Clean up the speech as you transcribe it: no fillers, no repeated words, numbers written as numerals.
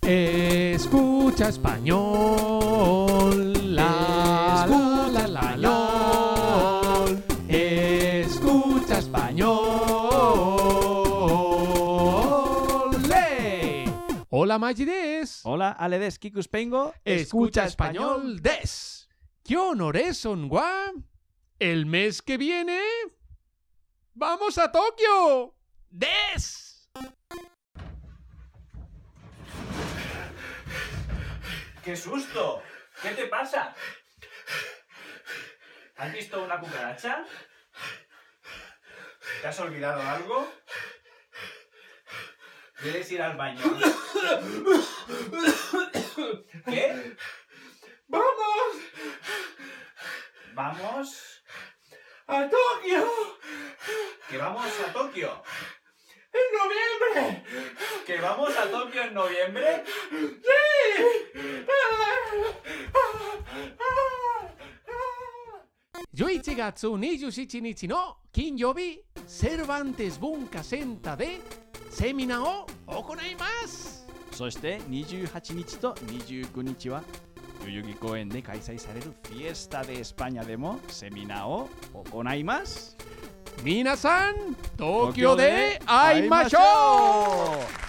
Escucha español. La, la, la, la. Escucha español. ¡Le! Hola, Maggi des. Hola, Ale des, Kikus Pengo. Escucha español des. ¿Qué honores son, gua? El mes que viene ¡vamos a Tokio! ¡Des! ¡Qué susto! ¿Qué te pasa? ¿Has visto una cucaracha? ¿Te has olvidado algo? ¿Quieres ir al baño? ¿Qué? ¡Vamos! ¿Vamos? ¡A Tokio! ¿Que vamos a Tokio? ¡En noviembre! ¿Que vamos a Tokio en noviembre? ¡Sí! 11月27日の金曜日、セルバンテス文化センターでセミナーを行います。 そして28日と29日は代々木公園で開催されるフィエスタ・デ・エスパニャでもセミナーを行います。 皆さん、東京で会いましょう。